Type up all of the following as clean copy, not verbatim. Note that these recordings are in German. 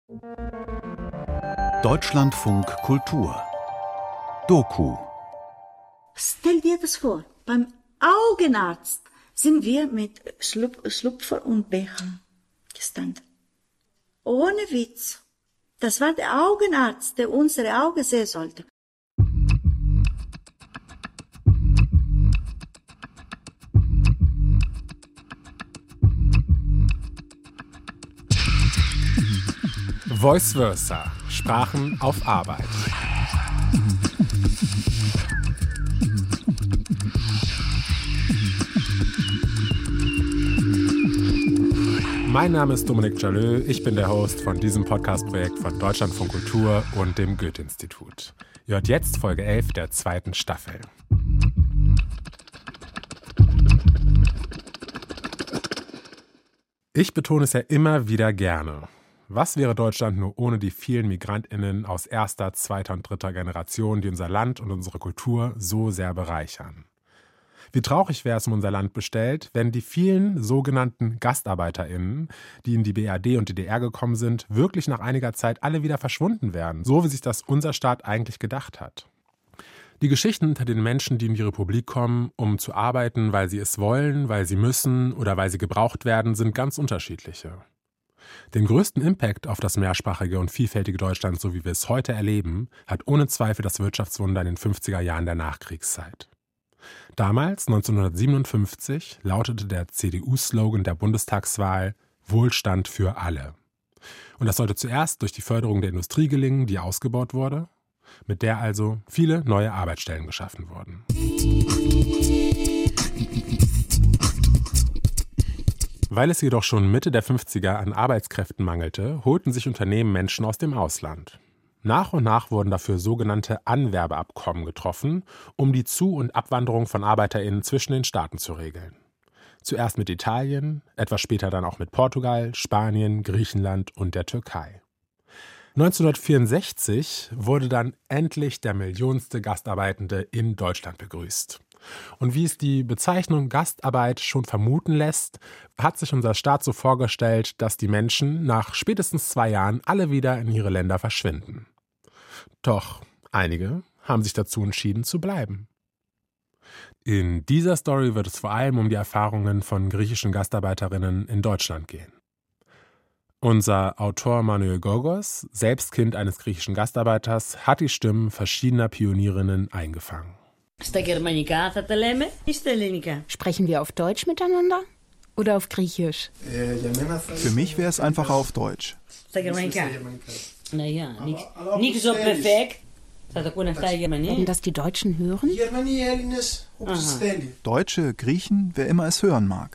Deutschlandfunk Kultur Doku. Stell dir das vor, beim Augenarzt sind wir mit Schlupfer und Becher gestanden. Ohne Witz. Das war der Augenarzt, der unsere Augen sehen sollte. Vice versa. Sprachen auf Arbeit. Mein Name ist Dominik Jalö, ich bin der Host von diesem Podcast-Projekt von Deutschlandfunk Kultur und dem Goethe-Institut. Ihr hört jetzt Folge 11 der 2. Staffel. Ich betone es ja immer wieder gerne. Was wäre Deutschland nur ohne die vielen MigrantInnen aus erster, zweiter und dritter Generation, die unser Land und unsere Kultur so sehr bereichern? Wie traurig wäre es um unser Land bestellt, wenn die vielen sogenannten GastarbeiterInnen, die in die BRD und DDR gekommen sind, wirklich nach einiger Zeit alle wieder verschwunden wären, so wie sich das unser Staat eigentlich gedacht hat. Die Geschichten hinter den Menschen, die in die Republik kommen, um zu arbeiten, weil sie es wollen, weil sie müssen oder weil sie gebraucht werden, sind ganz unterschiedliche. Den größten Impact auf das mehrsprachige und vielfältige Deutschland, so wie wir es heute erleben, hat ohne Zweifel das Wirtschaftswunder in den 50er Jahren der Nachkriegszeit. Damals, 1957, lautete der CDU-Slogan der Bundestagswahl »Wohlstand für alle«. Und das sollte zuerst durch die Förderung der Industrie gelingen, die ausgebaut wurde, mit der also viele neue Arbeitsstellen geschaffen wurden. Weil es jedoch schon Mitte der 50er an Arbeitskräften mangelte, holten sich Unternehmen Menschen aus dem Ausland. Nach und nach wurden dafür sogenannte Anwerbeabkommen getroffen, um die Zu- und Abwanderung von ArbeiterInnen zwischen den Staaten zu regeln. Zuerst mit Italien, etwas später dann auch mit Portugal, Spanien, Griechenland und der Türkei. 1964 wurde dann endlich der millionste Gastarbeitende in Deutschland begrüßt. Und wie es die Bezeichnung Gastarbeit schon vermuten lässt, hat sich unser Staat so vorgestellt, dass die Menschen nach spätestens 2 Jahren alle wieder in ihre Länder verschwinden. Doch einige haben sich dazu entschieden zu bleiben. In dieser Story wird es vor allem um die Erfahrungen von griechischen Gastarbeiterinnen in Deutschland gehen. Unser Autor Manuel Gorgos, selbst Kind eines griechischen Gastarbeiters, hat die Stimmen verschiedener Pionierinnen eingefangen. Sprechen wir auf Deutsch miteinander oder auf Griechisch? Für mich wäre es einfacher auf Deutsch. Werden das die Deutschen hören? Deutsche, Griechen, wer immer es hören mag.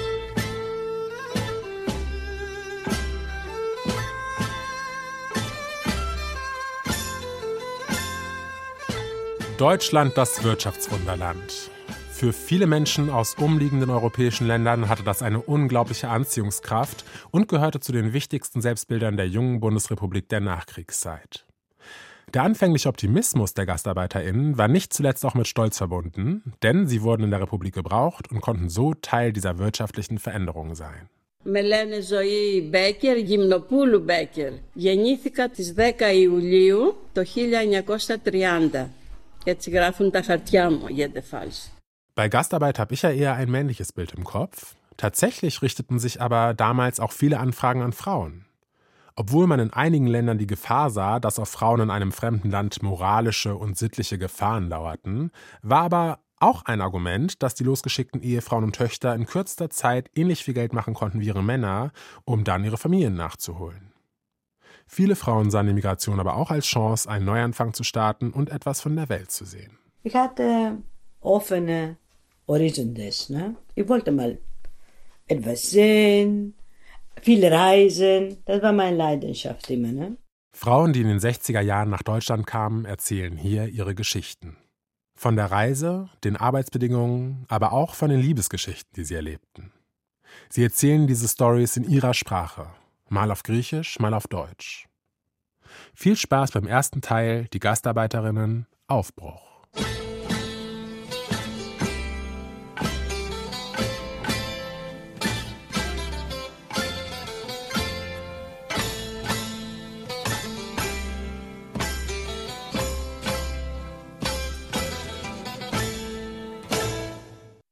Deutschland, das Wirtschaftswunderland. Für viele Menschen aus umliegenden europäischen Ländern hatte das eine unglaubliche Anziehungskraft und gehörte zu den wichtigsten Selbstbildern der jungen Bundesrepublik der Nachkriegszeit. Der anfängliche Optimismus der GastarbeiterInnen war nicht zuletzt auch mit Stolz verbunden, denn sie wurden in der Republik gebraucht und konnten so Teil dieser wirtschaftlichen Veränderungen sein. Με λένε Ζωή Μπέκερ, Γυμνοπούλου Μπέκερ. Γεννήθηκα τις 10 Ιουλίου το 1930. Jetzt greifen τα χαρτιά μου, jedenfalls. Bei Gastarbeit habe ich ja eher ein männliches Bild im Kopf. Tatsächlich richteten sich aber damals auch viele Anfragen an Frauen. Obwohl man in einigen Ländern die Gefahr sah, dass auf Frauen in einem fremden Land moralische und sittliche Gefahren lauerten, war aber auch ein Argument, dass die losgeschickten Ehefrauen und Töchter in kürzester Zeit ähnlich viel Geld machen konnten wie ihre Männer, um dann ihre Familien nachzuholen. Viele Frauen sahen die Migration aber auch als Chance, einen Neuanfang zu starten und etwas von der Welt zu sehen. Ich hatte offene Horizontes, ne? Ich wollte mal etwas sehen, viel reisen. Das war meine Leidenschaft immer, ne? Frauen, die in den 60er Jahren nach Deutschland kamen, erzählen hier ihre Geschichten. Von der Reise, den Arbeitsbedingungen, aber auch von den Liebesgeschichten, die sie erlebten. Sie erzählen diese Storys in ihrer Sprache. Mal auf Griechisch, mal auf Deutsch. Viel Spaß beim ersten Teil, die Gastarbeiterinnen, Aufbruch.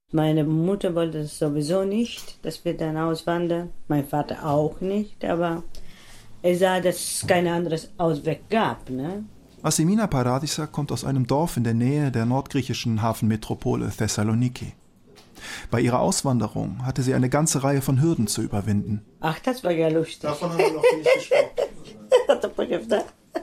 Meine Mutter wollte es sowieso nicht, dass wir dann auswandern. Mein Vater auch nicht, aber er sah, dass es kein anderes Ausweg gab, ne? Asimina Paradisa kommt aus einem Dorf in der Nähe der nordgriechischen Hafenmetropole Thessaloniki. Bei ihrer Auswanderung hatte sie eine ganze Reihe von Hürden zu überwinden. Ach, das war ja lustig. Davon haben wir noch nicht gesprochen.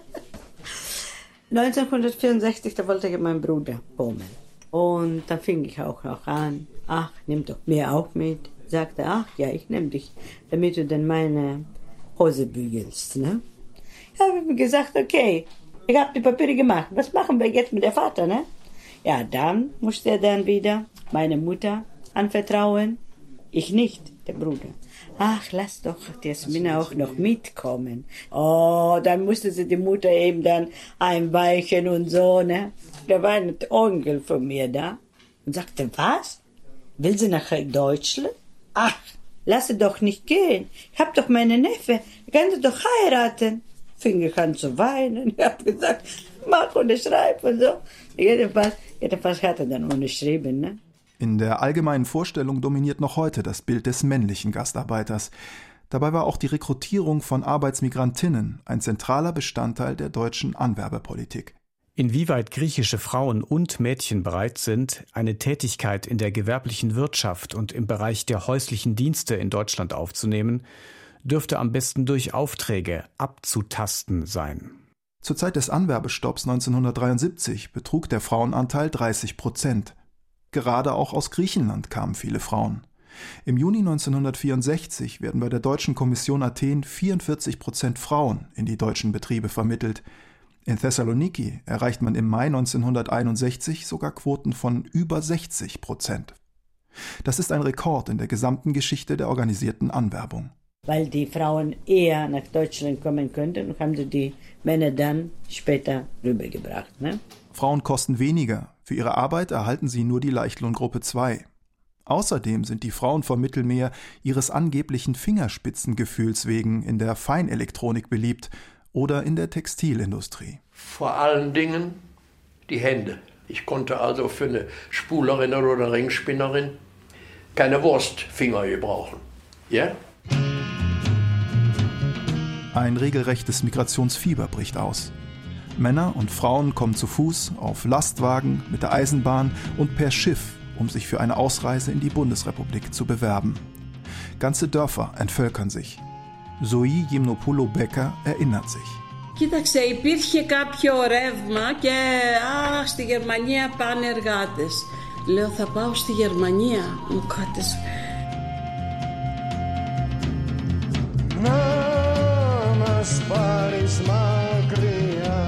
1964, da wollte ich meinen Bruder kommen. Und dann fing ich auch noch an. Ach, nimm doch mir auch mit. Sagte, ach ja, ich nehme dich, damit du dann meine Hose bügelst, ne? Ich habe mir gesagt, okay, ich habe die Papiere gemacht. Was machen wir jetzt mit der Vater, ne? Ja, dann musste er dann wieder meine Mutter anvertrauen. Ich nicht, der Bruder. Ach, lass doch die Jasmina auch noch mitkommen. Oh, dann musste sie die Mutter eben dann einweichen und so, ne? Da war ein Onkel von mir da und sagte, was? Will sie nach Deutschland? Ach, lass sie doch nicht gehen. Ich hab doch meine Neffe. Ich kann sie doch heiraten. Fing ich an zu weinen. Ich hab gesagt, mach unterschreib und so. Jedenfalls hat er dann unterschrieben, ne? In der allgemeinen Vorstellung dominiert noch heute das Bild des männlichen Gastarbeiters. Dabei war auch die Rekrutierung von Arbeitsmigrantinnen ein zentraler Bestandteil der deutschen Anwerbepolitik. Inwieweit griechische Frauen und Mädchen bereit sind, eine Tätigkeit in der gewerblichen Wirtschaft und im Bereich der häuslichen Dienste in Deutschland aufzunehmen, dürfte am besten durch Aufträge abzutasten sein. Zur Zeit des Anwerbestopps 1973 betrug der Frauenanteil 30%. Gerade auch aus Griechenland kamen viele Frauen. Im Juni 1964 werden bei der Deutschen Kommission Athen 44% Frauen in die deutschen Betriebe vermittelt. In Thessaloniki erreicht man im Mai 1961 sogar Quoten von über 60%. Das ist ein Rekord in der gesamten Geschichte der organisierten Anwerbung. Weil die Frauen eher nach Deutschland kommen könnten, haben sie die Männer dann später rübergebracht, ne? Frauen kosten weniger. Für ihre Arbeit erhalten sie nur die Leichtlohngruppe 2. Außerdem sind die Frauen vom Mittelmeer ihres angeblichen Fingerspitzengefühls wegen in der Feinelektronik beliebt oder in der Textilindustrie. Vor allen Dingen die Hände. Ich konnte also für eine Spulerin oder Ringspinnerin keine Wurstfinger gebrauchen. Ja? Ein regelrechtes Migrationsfieber bricht aus. Männer und Frauen kommen zu Fuß, auf Lastwagen, mit der Eisenbahn und per Schiff, um sich für eine Ausreise in die Bundesrepublik zu bewerben. Ganze Dörfer entvölkern sich. Zoe Gymnopoulou-Becker erinnert sich. Κοίταξε, υπήρχε κάποιο ρεύμα και στη Γερμανία πάνε εργάτες. Λέω, θα πάω στη Γερμανία. Μου κάτες. Να μας πάρεις μακριά.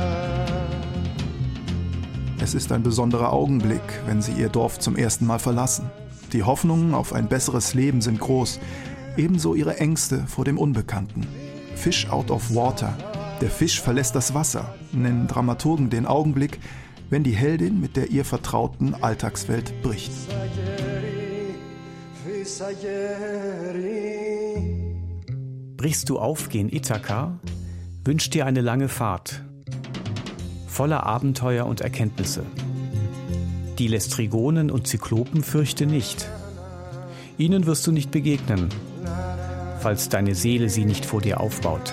Es ist ein besonderer Augenblick, wenn sie ihr Dorf zum ersten Mal verlassen. Die Hoffnungen auf ein besseres Leben sind groß, ebenso ihre Ängste vor dem Unbekannten. Fish out of water. Der Fisch verlässt das Wasser, nennen Dramaturgen den Augenblick, wenn die Heldin mit der ihr vertrauten Alltagswelt bricht. Brichst du auf gen Ithaka? Wünsch dir eine lange Fahrt, voller Abenteuer und Erkenntnisse. Die Lästrygonen und Zyklopen fürchte nicht. Ihnen wirst du nicht begegnen, falls deine Seele sie nicht vor dir aufbaut.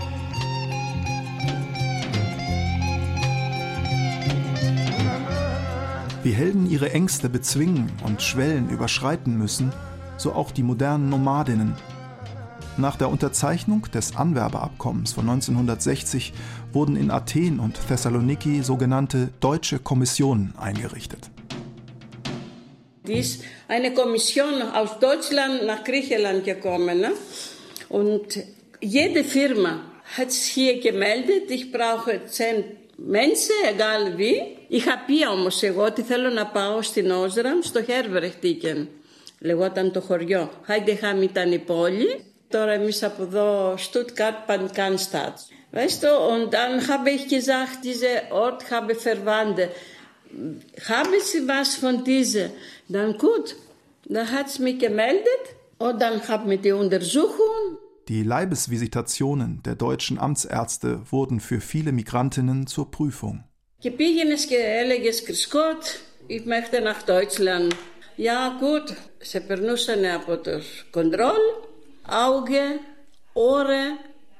Wie Helden ihre Ängste bezwingen und Schwellen überschreiten müssen, so auch die modernen Nomadinnen. Nach der Unterzeichnung des Anwerbeabkommens von 1960 wurden in Athen und Thessaloniki sogenannte Deutsche Kommissionen eingerichtet. Die ist eine Kommission aus Deutschland nach Griechenland gekommen. Ne? Und jede Firma hat sich hier gemeldet, ich brauche 10 Menschen, egal wie. Ich habe πει όμως εγώ ότι θέλω να πάω στην Όζραμ, στο Herbertigen. Λεγόταν το χωριό. Heideheim ήταν η πόλη. Τώρα εμείς από εδώ, Stuttgart, Pankannstadt. Weißt du, und dann habe ich gesagt, dieser Ort habe Verwandte. Haben Sie was von dieser? Dann gut, dann hat es mich gemeldet und dann haben wir die Untersuchung. Die Leibesvisitationen der deutschen Amtsärzte wurden für viele Migrantinnen zur Prüfung. Και πήγαινες και έλεγες, Κρυσκότ, ich möchte nach Deutschland. Ja, gut. Σε περνούσαν από το κοντρόλ, Auge, Ohren,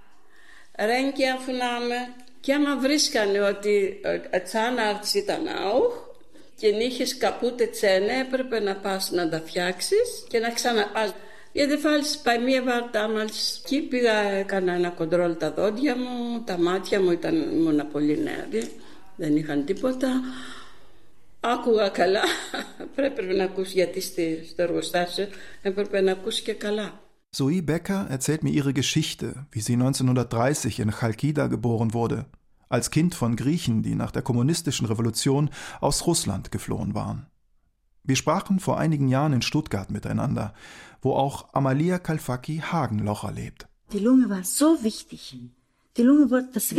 Röntgenaufnahme. Και άμα βρίσκανε ότι Zahnarzt ήταν auch και είχες kaputte Zähne, έπρεπε να πας να τα φτιάξεις και να ξαναπάς. Jedenfalls bei mir war damals, εκεί πήγα, έκανα ένα κοντρόλ τα δόντια μου, τα μάτια μου ήμουν πολύ νέα, δεν είχαν τίποτα. Άκουγα καλά, πρέπει να ακούσει, γιατί στο εργοστάσιο έπρεπε να ακούσει και καλά. Zoe Becker erzählt mir ihre Geschichte, wie sie 1930 in Chalkida geboren wurde, als Kind von Griechen, die nach der kommunistischen Revolution aus Russland geflohen waren. Wir sprachen vor einigen Jahren in Stuttgart miteinander, wo auch Amalia Kalfaki Hagenlocher lebt. Die Lunge war so wichtig. Die Lunge war das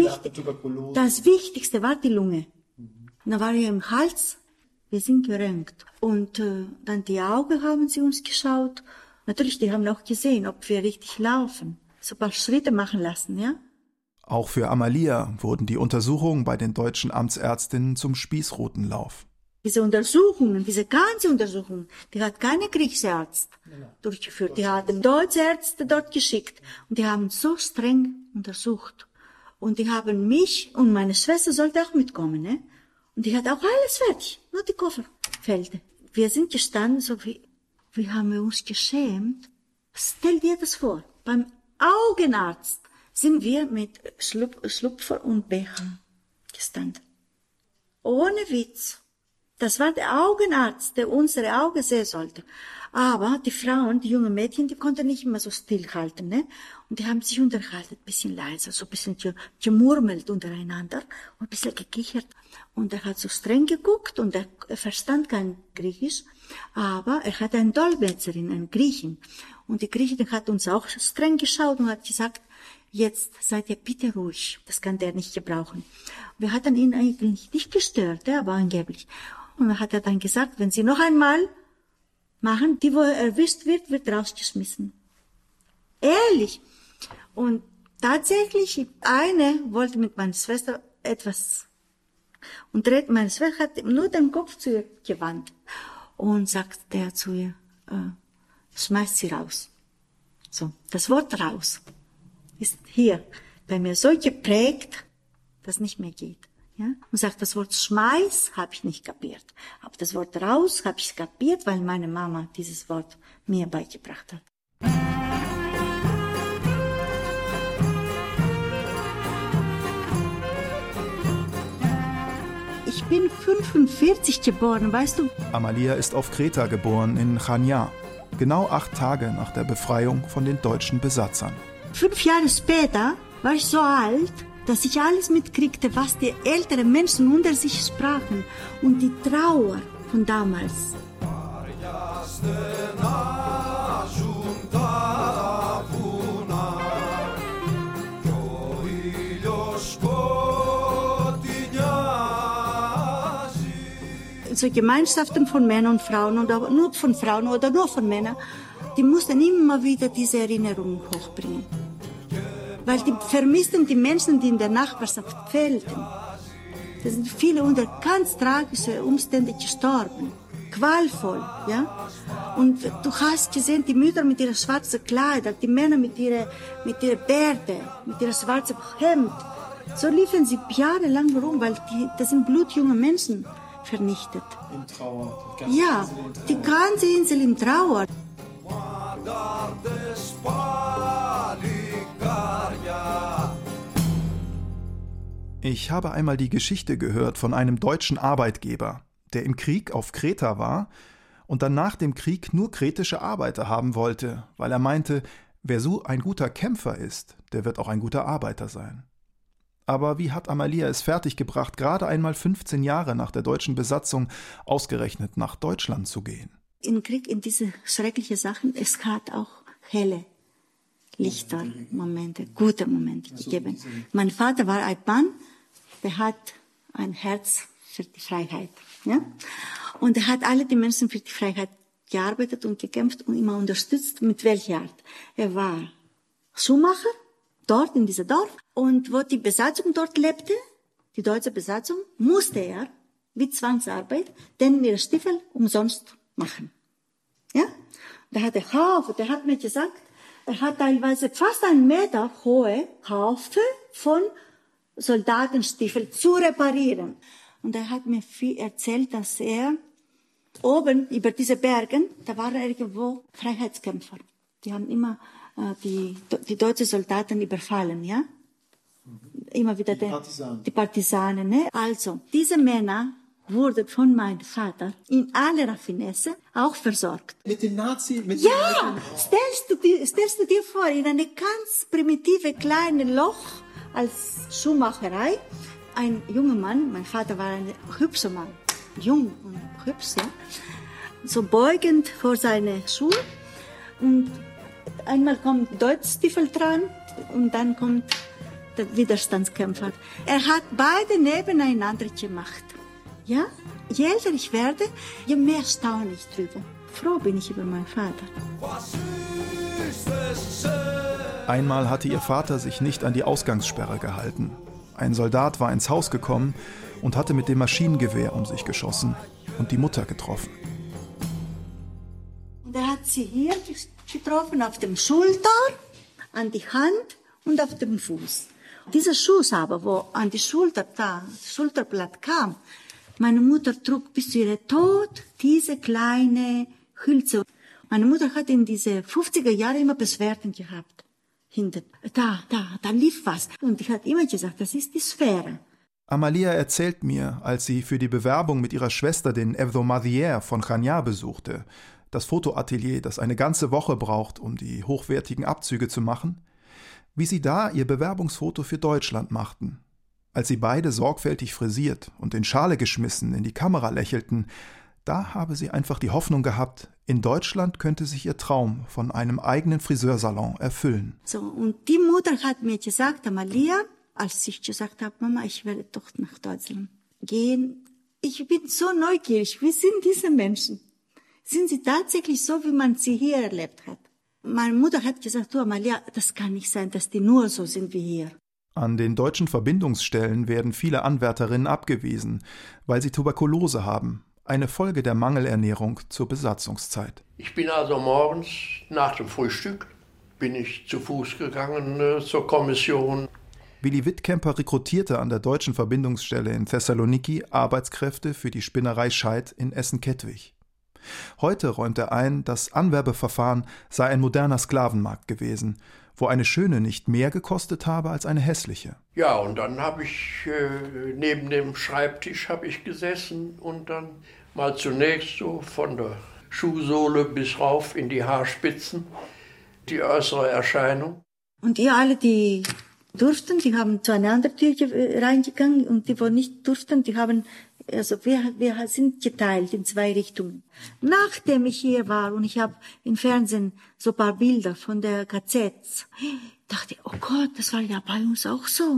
Wichtigste war die Lunge. Dann war ich im Hals, wir sind geröntgt. Und dann die Augen haben sie uns geschaut. Natürlich, die haben auch gesehen, ob wir richtig laufen. So ein paar Schritte machen lassen, ja. Auch für Amalia wurden die Untersuchungen bei den deutschen Amtsärztinnen zum Spießrutenlauf. Diese Untersuchungen, diese ganze Untersuchung, die hat keine griechische Arzt durchgeführt. Die hatten deutsche Ärzte dort geschickt. Und die haben so streng untersucht. Und die haben mich und meine Schwester sollte auch mitkommen, ne? Und die hat auch alles fertig, nur die Koffer fehlte. Wir sind gestanden, so wie haben wir uns geschämt. Stell dir das vor, beim Augenarzt sind wir mit Schlupfer und Becher gestanden. Ohne Witz. Das war der Augenarzt, der unsere Augen sehen sollte. Aber die Frauen, die jungen Mädchen, die konnten nicht immer so stillhalten, ne? Und die haben sich unterhalten, ein bisschen leiser, so ein bisschen gemurmelt untereinander und ein bisschen gekichert. Und er hat so streng geguckt und er verstand kein Griechisch, aber er hatte eine Dolmetscherin, einen Griechen. Und die Griechin hat uns auch streng geschaut und hat gesagt, jetzt seid ihr bitte ruhig, das kann der nicht gebrauchen. Wir hatten ihn eigentlich nicht gestört, aber angeblich. Und dann hat er dann gesagt, wenn Sie noch einmal machen, die, wo er erwischt wird, wird rausgeschmissen. Ehrlich. Und tatsächlich, eine wollte mit meiner Schwester etwas. Und meine Schwester hat nur den Kopf zu ihr gewandt. Und sagt der zu ihr, schmeißt sie raus. So, das Wort raus ist hier bei mir so geprägt, dass nicht mehr geht. Ja? Und sagt, das Wort Schmeiß habe ich nicht kapiert. Aber das Wort raus habe ich kapiert, weil meine Mama dieses Wort mir beigebracht hat. Ich bin 45 geboren, weißt du? Amalia ist auf Kreta geboren, in Chania, genau 8 Tage nach der Befreiung von den deutschen Besatzern. 5 Jahre später war ich so alt, dass ich alles mitkriegte, was die älteren Menschen unter sich sprachen und die Trauer von damals. So Gemeinschaften von Männern und Frauen oder nur von Frauen oder nur von Männern, die mussten immer wieder diese Erinnerungen hochbringen. Weil die vermissten die Menschen, die in der Nachbarschaft fehlten. Da sind viele unter ganz tragischen Umständen gestorben. Qualvoll, ja. Und du hast gesehen, die Mütter mit ihren schwarzen Kleidern, die Männer mit ihren Bärte, mit ihrem schwarzen Hemd. So liefen sie jahrelang rum, weil das sind blutjunge Menschen vernichtet. In Trauer. Ja, die ganze Insel in Trauer. Ich habe einmal die Geschichte gehört von einem deutschen Arbeitgeber, der im Krieg auf Kreta war und dann nach dem Krieg nur kretische Arbeiter haben wollte, weil er meinte, wer so ein guter Kämpfer ist, der wird auch ein guter Arbeiter sein. Aber wie hat Amalia es fertiggebracht, gerade einmal 15 Jahre nach der deutschen Besatzung ausgerechnet nach Deutschland zu gehen? Im Krieg, in diese schrecklichen Sachen, es hat auch helle Lichtermomente, gute Momente gegeben. Mein Vater war ein Mann, der hat ein Herz für die Freiheit. Ja? Und er hat alle die Menschen für die Freiheit gearbeitet und gekämpft und immer unterstützt. Mit welcher Art? Er war Schuhmacher, dort in diesem Dorf. Und wo die Besatzung dort lebte, die deutsche Besatzung, musste er, wie Zwangsarbeit, denn ihre Stiefel umsonst machen. Ja? Der hatte Haufen, der hat mir gesagt, er hat teilweise fast 1 Meter hohe Haufen von Soldatenstiefeln zu reparieren. Und er hat mir viel erzählt, dass er oben über diese Bergen, da waren irgendwo Freiheitskämpfer. Die haben immer die deutschen Soldaten überfallen, ja? Immer wieder die Partisanen. Ne? Also, diese Männer wurden von meinem Vater in aller Raffinesse auch versorgt. Mit den Nazis? Ja! Stellst du dir vor, in eine ganz primitive kleine Loch als Schuhmacherei, ein junger Mann, mein Vater war ein hübscher Mann, jung und hübsch, ja, so beugend vor seine Schuhe und einmal kommt Deutschstiefel dran und dann kommt der Widerstandskämpfer. Er hat beide nebeneinander gemacht. Ja? Je älter ich werde, je mehr staune ich drüber. Froh bin ich über meinen Vater. Einmal hatte ihr Vater sich nicht an die Ausgangssperre gehalten. Ein Soldat war ins Haus gekommen und hatte mit dem Maschinengewehr um sich geschossen und die Mutter getroffen. Und er hat sie hier getroffen, auf dem Schulter, an die Hand und auf dem Fuß. Dieser Schuss aber, wo an die Schulter da, das Schulterblatt kam, meine Mutter trug bis zu ihrem Tod diese kleine Hülse. Meine Mutter hat in diese 50er Jahre immer Beschwerden gehabt. Hinten, da lief was. Und ich hatte immer gesagt, das ist die Sphäre. Amalia erzählt mir, als sie für die Bewerbung mit ihrer Schwester den Hebdomadiaire von Chania besuchte, das Fotoatelier, das eine ganze Woche braucht, um die hochwertigen Abzüge zu machen, wie sie da ihr Bewerbungsfoto für Deutschland machten. Als sie beide sorgfältig frisiert und in Schale geschmissen in die Kamera lächelten, da habe sie einfach die Hoffnung gehabt, in Deutschland könnte sich ihr Traum von einem eigenen Friseursalon erfüllen. So, und die Mutter hat mir gesagt, Amalia, als ich gesagt habe, Mama, ich werde doch nach Deutschland gehen. Ich bin so neugierig. Wie sind diese Menschen? Sind sie tatsächlich so, wie man sie hier erlebt hat? Meine Mutter hat gesagt, du Amalia, das kann nicht sein, dass die nur so sind wie hier. An den deutschen Verbindungsstellen werden viele Anwärterinnen abgewiesen, weil sie Tuberkulose haben. Eine Folge der Mangelernährung zur Besatzungszeit. Ich bin also morgens nach dem Frühstück, bin ich zu Fuß gegangen zur Kommission. Willi Wittkemper rekrutierte an der deutschen Verbindungsstelle in Thessaloniki Arbeitskräfte für die Spinnerei Scheidt in Essen-Kettwig. Heute räumt er ein, das Anwerbeverfahren sei ein moderner Sklavenmarkt gewesen, wo eine schöne nicht mehr gekostet habe als eine hässliche. Ja, und dann habe ich neben dem Schreibtisch gesessen und dann mal zunächst so von der Schuhsohle bis rauf in die Haarspitzen die äußere Erscheinung. Und ihr alle, die durften, die haben zu einer anderen Tür reingegangen und die, wo nicht durften, die haben, also wir sind geteilt in 2 Richtungen. Nachdem ich hier war und ich habe im Fernsehen so ein paar Bilder von der KZ, dachte ich, oh Gott, das war ja bei uns auch so.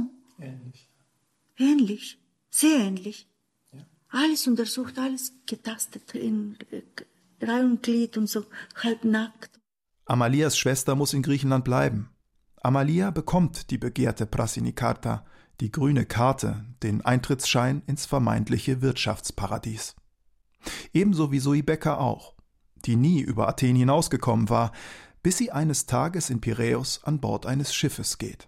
Ähnlich, sehr ähnlich. Ja. Alles untersucht, alles getastet, in Reihe und Glied und so, halbnackt. Amalias Schwester muss in Griechenland bleiben. Amalia bekommt die begehrte Prasinikarta, die grüne Karte, den Eintrittsschein ins vermeintliche Wirtschaftsparadies. Ebenso wie Zoe Becker auch, die nie über Athen hinausgekommen war, bis sie eines Tages in Piräus an Bord eines Schiffes geht.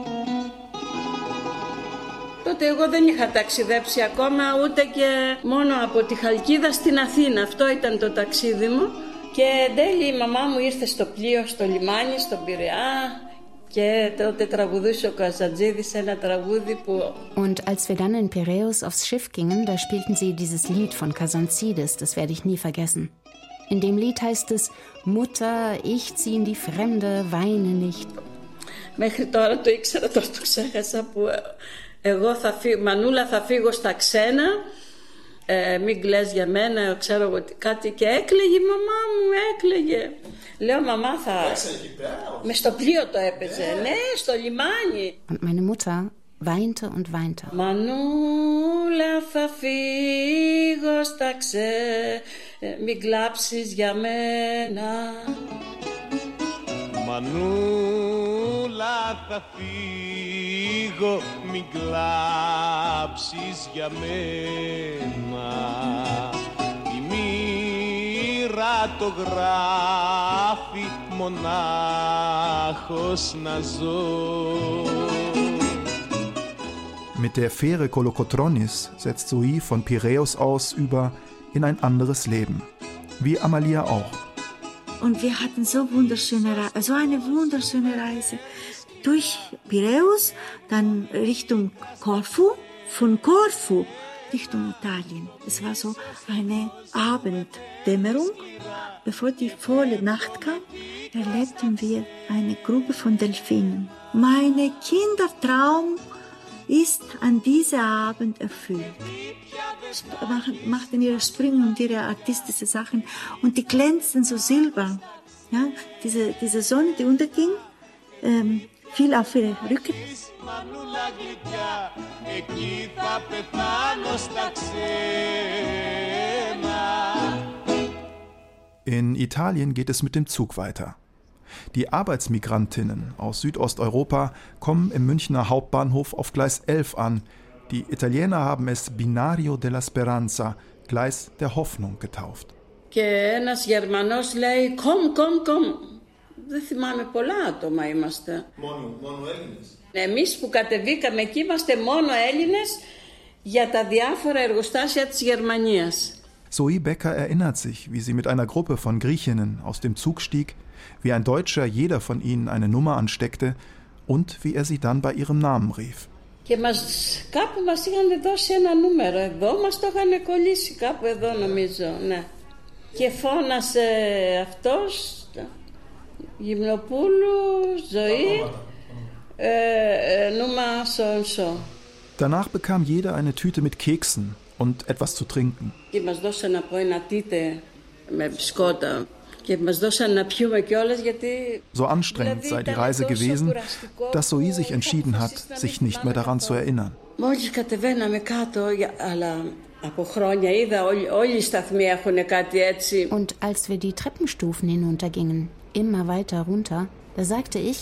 Τότε εγώ δεν είχα ταξιδέψει ακόμα ούτε και μόνο από τη Χαλκίδα στην Αθήνα. Αυτό ήταν το ταξίδι μου. Και εν τέλει η μαμά μου ήρθε στο πλοίο, στο λιμάνι, στον Πειραιά. Και τότε τραγουδούσε ο Καζαντζίδης ένα τραγούδι που... Und als wir dann in Piräus aufs Schiff gingen, da spielten sie dieses Lied von Kazantzidis, das werde ich nie vergessen. In dem Lied heißt es, Mutter, ich zieh in die Fremde, weine nicht. Μέχρι τώρα το ήξερα, τώρα το ξέχασα που εγώ Μανούλα θα φύγω στα ξένα, μην κλαις για μένα, ξέρω εγώ κάτι και έκλαιγε η μαμά μου, έκλαιγε. Λέω μαμά θα... Μες στο πλοίο το έπαιζε, ναι, στο λιμάνι. Und meine Mutter weinte und weinte. Μανούλα θα φύγω στα ξένα, μην κλάψεις για μένα. Μανούλα θα φύγω, μην κλάψεις για μένα. Η μοίρα κάτω γράφει μονάχος να ζω. Mit der Fähre Kolokotronis setzt Zoe von Piräus aus über in ein anderes Leben. Wie Amalia auch. Und wir hatten so eine wunderschöne Reise. Durch Piräus, dann Richtung Korfu, von Korfu Richtung Italien. Es war so eine Abenddämmerung. Bevor die volle Nacht kam, erlebten wir eine Gruppe von Delfinen. Mein Kindertraum ist an diesem Abend erfüllt. Machten ihre Sprünge und ihre artistischen Sachen und die glänzten so silber. Ja, diese Sonne, die unterging, fiel auf ihre Rücken. In Italien geht es mit dem Zug weiter. Die Arbeitsmigrantinnen aus Südosteuropa kommen im Münchner Hauptbahnhof auf Gleis 11 an. Die Italiener haben es Binario della Speranza, Gleis der Hoffnung, getauft. Και ένας Γερμανός λέει komm. Δεν θυμάμαι πολλά άτομα είμαστε. Μόνο Έλληνες. Εμείς που κατεβήκαμε εκεί είμαστε μόνο Έλληνες για τα διάφορα εργοστάσια της Γερμανίας. Zoe Becker erinnert sich, wie sie mit einer Gruppe von Griechinnen aus dem Zug stieg, wie ein Deutscher jeder von ihnen eine Nummer ansteckte und wie er sie dann bei ihrem Namen rief. Και κάπου μας είχαν δώσει ένα νούμερο εδώ, μας το είχαν κολλήσει κάπου εδώ νομίζω, ναι. Και φώνασε αυτός, Γυμνοπούλου, Ζωή, Nummer so. Danach bekam jeder eine Tüte mit Keksen und etwas zu trinken. Και μας δώσαν από ένα τίτε με μπισκότα. So anstrengend sei die Reise gewesen, dass Zoe sich entschieden hat, sich nicht mehr daran zu erinnern. Und als wir die Treppenstufen hinuntergingen, immer weiter runter, da sagte ich: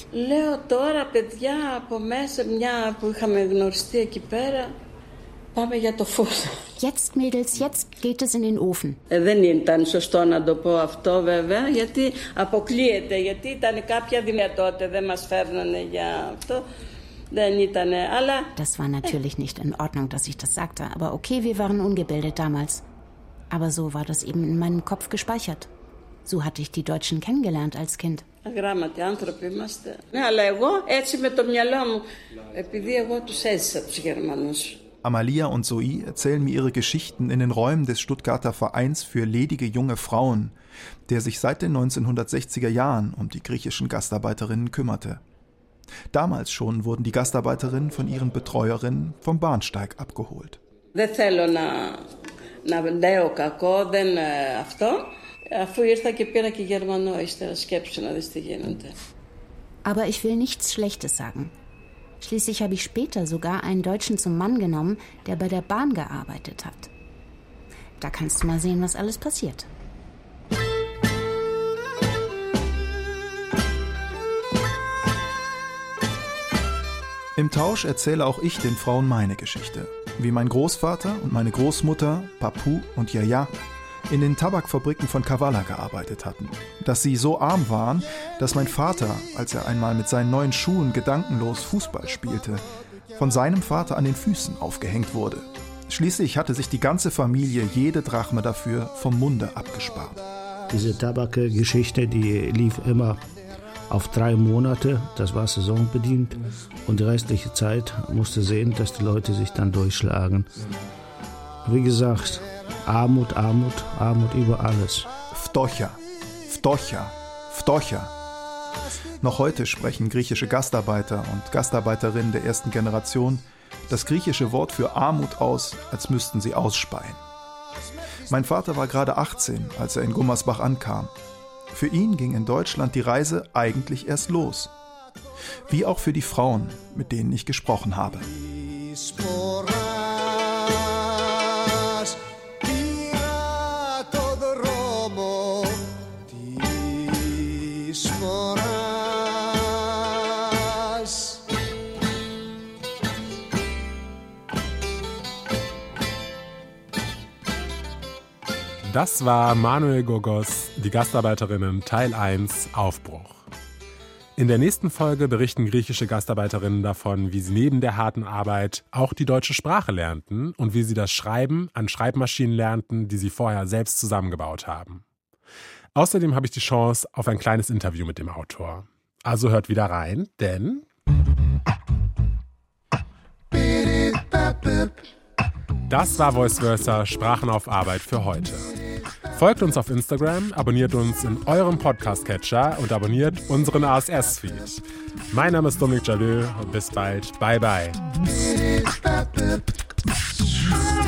Jetzt, Mädels, jetzt geht es in den Ofen. Δεν ήταν σωστό να το πω αυτό βέβαια, γιατί αποκλείεται, γιατί ήταν κάποια δυνατότητα, δεν μας φέρνανε για αυτό. Δεν ήτανε, αλλά... Das war natürlich nicht in Ordnung, dass ich das sagte, aber okay, wir waren ungebildet damals. Aber so war das eben in meinem Kopf gespeichert. So hatte ich die Deutschen kennengelernt als Kind. Αγράμματοι άνθρωποι είμαστε. Ναι, αλλά εγώ έτσι με το μυαλό μου, επειδή εγώ τους έζησα τους Γερμανούς. Amalia und Zoe erzählen mir ihre Geschichten in den Räumen des Stuttgarter Vereins für ledige junge Frauen, der sich seit den 1960er Jahren um die griechischen Gastarbeiterinnen kümmerte. Damals schon wurden die Gastarbeiterinnen von ihren Betreuerinnen vom Bahnsteig abgeholt. Δεν θέλω να λέω κακό, δεν αυτό, αφού ήρθα και πήρα και Γερμανό, ύστερα σκέψου να δεις τι γίνεται. Aber ich will nichts Schlechtes sagen. Schließlich habe ich später sogar einen Deutschen zum Mann genommen, der bei der Bahn gearbeitet hat. Da kannst du mal sehen, was alles passiert. Im Tausch erzähle auch ich den Frauen meine Geschichte. Wie mein Großvater und meine Großmutter, Papu und Yaya, in den Tabakfabriken von Kavala gearbeitet hatten. Dass sie so arm waren, dass mein Vater, als er einmal mit seinen neuen Schuhen gedankenlos Fußball spielte, von seinem Vater an den Füßen aufgehängt wurde. Schließlich hatte sich die ganze Familie jede Drachme dafür vom Munde abgespart. Diese Tabakgeschichte, die lief immer auf 3 Monate, das war saisonbedingt, und die restliche Zeit musste sehen, dass die Leute sich dann durchschlagen. Wie gesagt, Armut, Armut, Armut über alles. Vtocha, Vtocha, Vtocha. Noch heute sprechen griechische Gastarbeiter und Gastarbeiterinnen der ersten Generation das griechische Wort für Armut aus, als müssten sie ausspeien. Mein Vater war gerade 18, als er in Gummersbach ankam. Für ihn ging in Deutschland die Reise eigentlich erst los. Wie auch für die Frauen, mit denen ich gesprochen habe. Das war Manuel Gogos, die Gastarbeiterinnen Teil 1, Aufbruch. In der nächsten Folge berichten griechische Gastarbeiterinnen davon, wie sie neben der harten Arbeit auch die deutsche Sprache lernten und wie sie das Schreiben an Schreibmaschinen lernten, die sie vorher selbst zusammengebaut haben. Außerdem habe ich die Chance auf ein kleines Interview mit dem Autor. Also hört wieder rein, denn das war Voice Versa, Sprachen auf Arbeit für heute. Folgt uns auf Instagram, abonniert uns in eurem Podcast-Catcher und abonniert unseren ASS-Feed. Mein Name ist Dominik Jalö und bis bald. Bye, bye.